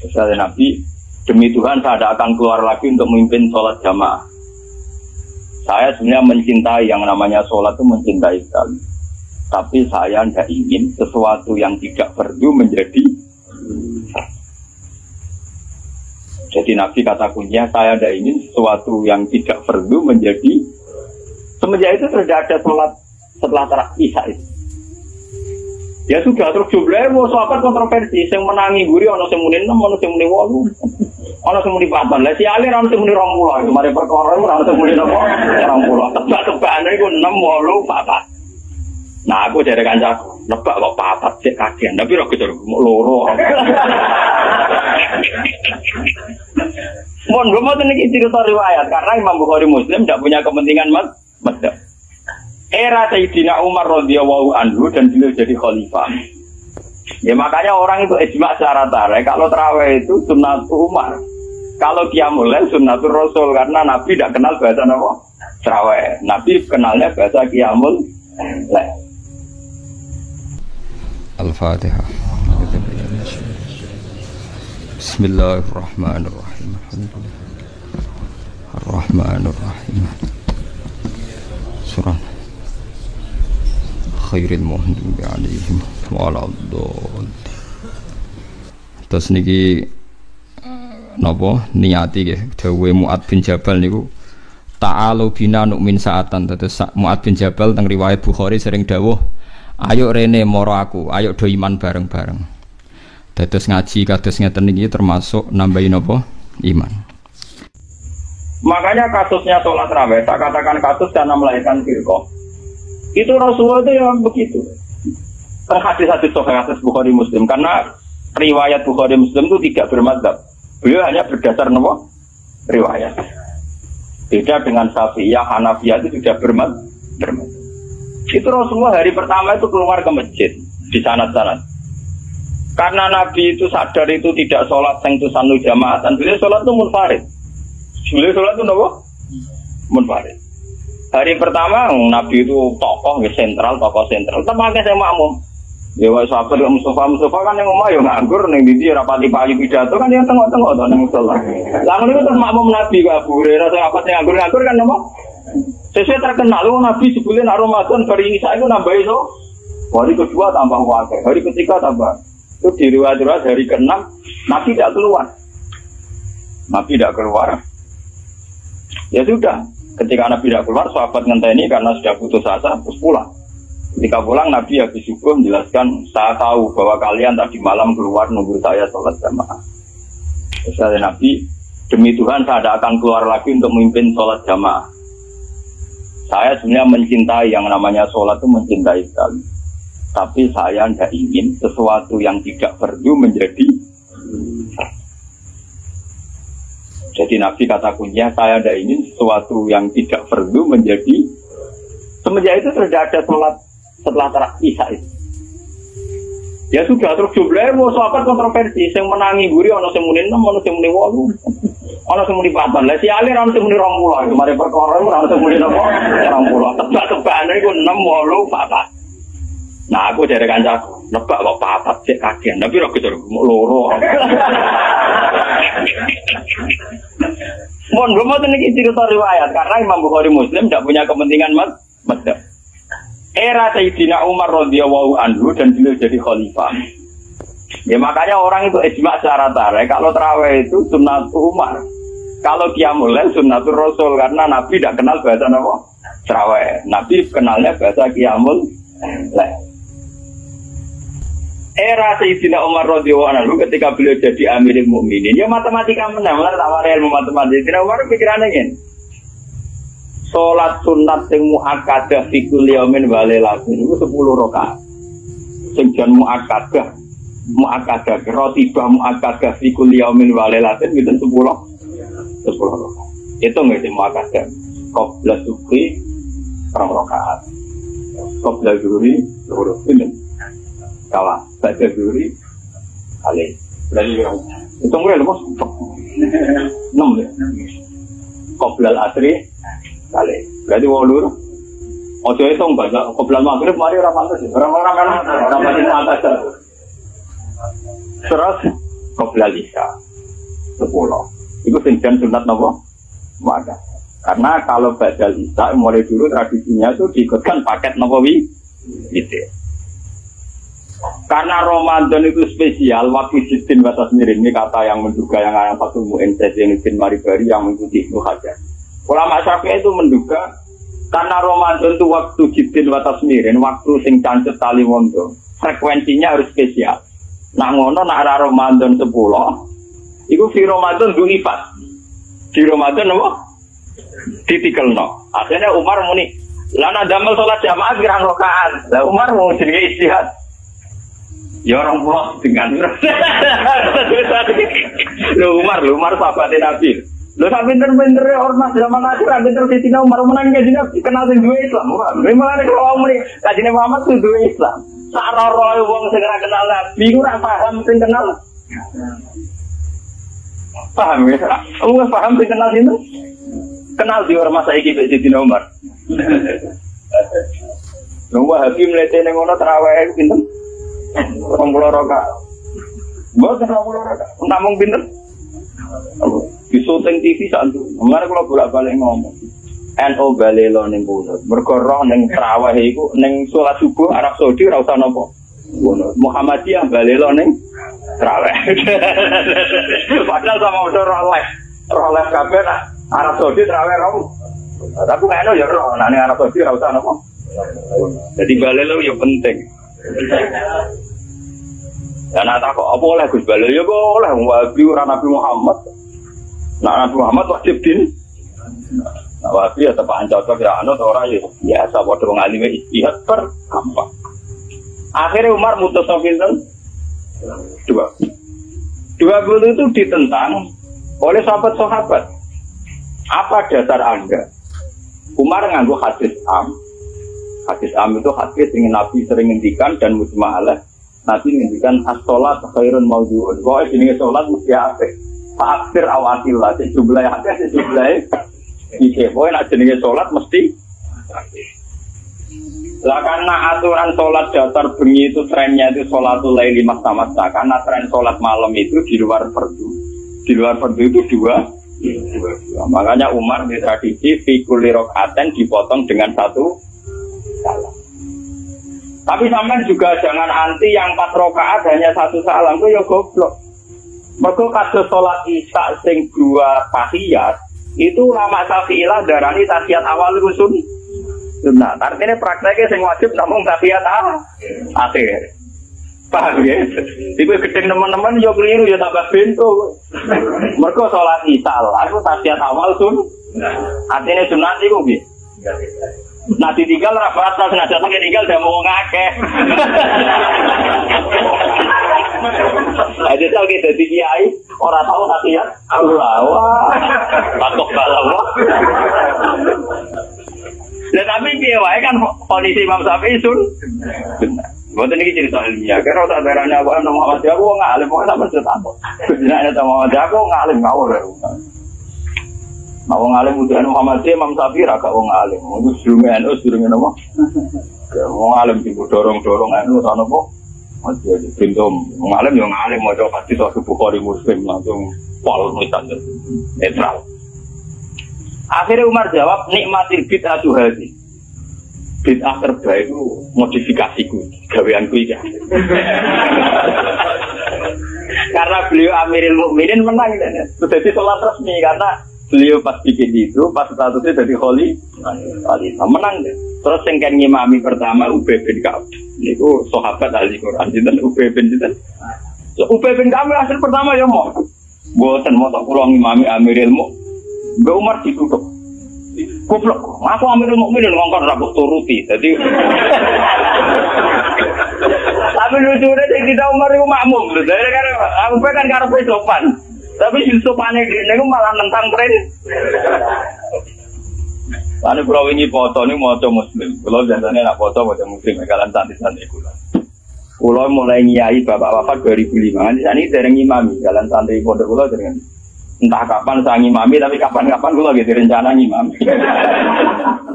Kata Nabi, demi Tuhan saya tidak akan keluar lagi untuk memimpin sholat jamaah. Saya sebenarnya mencintai yang namanya sholat itu mencintai sekali. Tapi saya tidak ingin sesuatu yang tidak perlu menjadi. Jadi Nabi kata kuncinya, saya tidak ingin sesuatu yang tidak perlu menjadi. Semenjak itu tidak ada sholat setelah isya itu. Ya sudah, terus jumlahnya mau sahabat kontroversi. Yang menangi guri, ada yang muni 6, ada yang muni 8, ada yang muni 4. Lah si alir ada yang muni 20. Kemarin perkara ada yang muni 20. Tebak-tebakan itu 6, 8, 4. Nah aku jadi kancaku, nebak kok 4 cek kagian. Tapi roh kejar mau loro. Mohon gue mau tadi cerita riwayat karena Imam Bukhari Muslim tidak punya kepentingan madzhab. Era Sayyidina Umar radhiyallahu anhu dan beliau jadi khalifah. Ya makanya orang itu ijma secara tarik kalau tarawih itu sunnatul Umar. Kalau qiyamul lail sunnatul Rasul karena Nabi tidak kenal bahasa apa? Tarawih. Nabi kenalnya bahasa qiyamul lail. Al-Fatihah. Bismillahirrahmanirrahim. Ar-Rahmanirrahim. Surah Khairil Muhdi alaihim waladhdallin. Terus niki napa niati nggih dawuhe Mu'ad bin Jabal niku ta'alu bina nu'min sa'atan. Terus Mu'ad bin Jabal teng riwayat Bukhari sering dawuh, ayo rene moro aku, ayo do iman bareng-bareng. Dados ngaji kados ngeten niki termasuk nambahin apa? Iman. Makanya kasusnya sholat raweh, saya katakan kasus karena melahirkan firqah. Itu Rasulullah itu yang begitu. Hadis-hadis sahih hadis Bukhari Muslim karena riwayat Bukhari Muslim itu tidak bermadzhab. Beliau hanya berdasar nama riwayat. Beda dengan Syafi'iyah, Hanafiyah itu sudah bermadzhab. Itu Rasulullah hari pertama itu keluar ke masjid di sana-sana. Karena Nabi itu sadar itu tidak sholat sengtusan jamaah dan beliau sholat itu munfarid. Beliau sholat itu apa? Munfarid. Hari pertama Nabi itu tokoh sentral. Tempatnya saya makmum. Ya wis sahabat Mustafa kan yang omah yo nganggur ning ndi rapati payu pidato kan yang tengok-tengok to ning musala. Lah ngono terus makmum Nabi kok Abu Hurairah sing apa sing nganggur kan apa? Sesuai terkenal Nabi sebelum Ramadan hari Isa itu nambah iso. Hari kedua tambah wakil, hari ketiga tambah. Itu di riwayat hari ke-6 Nabi tidak keluar. Ya sudah. Ketika Nabi tidak keluar, sahabat ngenteni karena sudah putus asa, terus pulang. Ketika pulang, Nabi habis subuh menjelaskan, saya tahu bahwa kalian tadi malam keluar nunggu saya sholat jamaah. Terus kata Nabi, demi Tuhan saya tidak akan keluar lagi untuk memimpin sholat jamaah. Saya sebenarnya mencintai yang namanya sholat itu mencintai sekali. Tapi saya tidak ingin sesuatu yang tidak perlu menjadi. Jadi Nabi kata kuncinya, saya tidak ingin sesuatu yang tidak perlu menjadi. Semenjak itu tidak ada sholat setelah isya itu. Ya sudah, terus jumlahnya mau sahabat kontroversi. Yang menangi guri, ada yang muni 6, ada yang muni 8, ada yang muni 4. Lah si alir ada yang muni 20. Kemarin perkara ada yang muni 20. Tebak-tebakan itu 6, 8, 4. Nah aku jadi kancaku, nebak kok 4 cek kagian. Tapi roh kejar mau loro. Mohon gue mau tadi cerita riwayat karena Imam Bukhari Muslim tidak punya kepentingan madzhab. Era Sayyidina Umar radhiyallahu anhu dan beliau jadi khalifah. Ya makanya orang itu ijma secara tarik kalau tarawih itu sunnatul Umar. Kalau qiyamul lail sunnatul Rasul karena Nabi tidak kenal bahasa apa? Tarawih. Nabi kenalnya bahasa qiyamul lail. Era Sayyidina Umar radhiyallahu anhu ketika beliau jadi Amirul Mukminin, ya matematika menang, lah tawar ilmu matematika. Sayyidina Umar pikirannya ngene. Salat sunat sing muakkadah fi kulli yaumin wa lailatin itu 10 rakaat. Sing jan muakkadah rotibah muakkadah fi kulli yaumin wa lailatin itu 10 rakaat. Itu nggih sing muakkadah. Qabla subhi 2 rakaat. Qabla zuhri 2 rakaat. Kalah, baca duri, kali. Berarti itu mulai lepas 6 ya. Qoblal asri kali. Berarti 8. Ojo itu baca qoblal maghrib mari ora pantes. Orang-orang kan ora pantes atas. Terus qoblal isya 10. Iku sing jan sunat napa? Muakkad. Karena kalau badal isya mulai dulu tradisinya itu diikutkan paket napa witir. Karena Ramadan itu spesial, waktu jiddin wa tasmirin, ini kata yang menduga yang ada satu mu'intes yang izin maribari yang mengikuti Ibnu Hajar. Ulama Syafi'i itu menduga karena Ramadan itu waktu jiddin wa tasmirin, waktu sing cancet tali wondo, frekuensinya harus spesial. Nah ngono nak ada Ramadan 10, itu di Ramadan du'ifat. Di Ramadan apa? Ditikelno. Akhirnya Umar muni, lana damel sholat jamaah pirang rakaat. Lah Umar mau jenenge istihad. Ya orang pulau dengan Umar sahabatnya Nabi. Lo tak pinter-pinter ormas zaman akhir, pinter di sini Umar menang ke sini kenal dengan dua Islam. Memang ada kalau Umar kajian Muhammad itu dua Islam. Saror wong segera kenal Nabi, kurang paham sing kenal. Paham ya? Kamu paham sing kenal itu? Kenal di ormas saya gitu di sini Umar. Nunggu hakim letih nengono terawih pinter. 20 rakaat. Mbok 20 rakaat. Namung pinter. Di syuting TV santu. Kemarin kalau bolak-balik ngomong. NU balelo ning kono. Mergo roh ning traweh iku ning salat subuh Arab Saudi ora usah napa. Muhammadiyah balelo ning traweh. Padahal sama udah roh live kabeh Arab Saudi traweh kamu. Tapi NU ya roh ning Arab Saudi ora usah napa. Jadi balelo ya penting. Dan tak kok apa oleh Gus Balil ya kok oleh Wahabi ora Nabi Muhammad. Nah Nabi Muhammad wajib din. Nah Wahabi ya tepak cocok ya anut ora ya biasa padha wong alime istihad per gampang. Akhirnya Umar mutus pinten? 20 itu ditentang oleh sahabat-sahabat. Apa dasar Anda? Umar nganggo hadis am. Hadis am itu hadis yang Nabi sering ngendikan dan mujma'alah. Nabi ngendikan as-sholat khairun mawdu'un. Pokoknya jenis sholat mesti apik. Fa'akhir awatillah. Sejumlah hadis, sejumlah isi. Pokoknya nak jenis sholat mesti lah karena aturan sholat dasar bengi itu trennya itu sholatul laili masa-masa. Karena tren sholat malam itu di luar fardu. Di luar fardu itu dua. Makanya Umar di tradisi fi kulli rakaatin dipotong dengan satu salam. Tapi sampean juga jangan anti yang 4 rakaat hanya satu salam itu ya goblok. Mergo kados salat Isya sing 2 tahiyat itu ulama Syafi'iyah darani tahiyat awal itu sunnah. Artinya prakteknya sing wajib namung tahiyat akhir. Paham ya? Iku gedeng teman-teman yo keliru ya tambah bento. Mergo salat Isya itu tahiyat awal sunnah. Artinya sunnah iku piye? Nah ditinggal rapat, sengaja pakai tinggal udah mau ngakeh. Ada tahu kita di kiai orang tahu hati ya Allah wah takut balawa. Dan tapi dia wae kan kondisi Imam Syafi'i sun. Bukan ini cerita ilmiah. Karena tak berani aku Muhammad aku ngalim, pokoknya tak bercerita apa. Sebenarnya Muhammad aku ngalim ngawur. Nah, wong alim udah Muhammad Imam Syafi'i agak wong alim. Wong sedurunge NU sedurunge napa? Wong alim sing dorong-dorong NU ta napa? Masih di pintu wong alim yo ngalim maca pasti tok Bukhari Muslim langsung pol mitan netral. Akhirnya Umar jawab nikmatil bid'atu hadhi. Bid'ah terbaik itu modifikasiku, gaweanku iki. Karena beliau Amirul Mukminin menang dan jadi sholat resmi karena beliau pas bikin itu, pas statusnya jadi kholi, menang deh. Terus yang kan ngimami pertama Ubay bin Ka'ab, itu sahabat ahli Quran, dan Ubay bin Ka'ab hasil pertama ya mau, buatan mau tak pulang ngimami Amirul Mukminin, Mbak Umar ditutup, goblok, aku Amirul Mukminin ngongkar rabuk turuti, jadi. Tapi lucunya kita Umar itu makmum, jadi kan aku kan karena sopan. Tapi sopane dene malah nentang tren. Ane kula wingi foto niku maca muslim. Kula jane nak foto maca muslim kalian santai-santai kula. Kula mulai nyai bapak wafat 2005. Ini dereng imami kalian santai pondok kula dereng. Entah kapan saya ngimami tapi kapan-kapan kula gitu rencana ngimami.